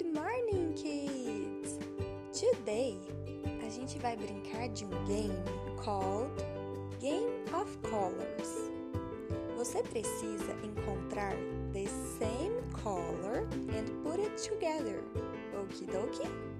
Good morning, kids! Today, a gente vai brincar de um game called Game of Colors. Você precisa encontrar the same color and put it together. Okie dokie?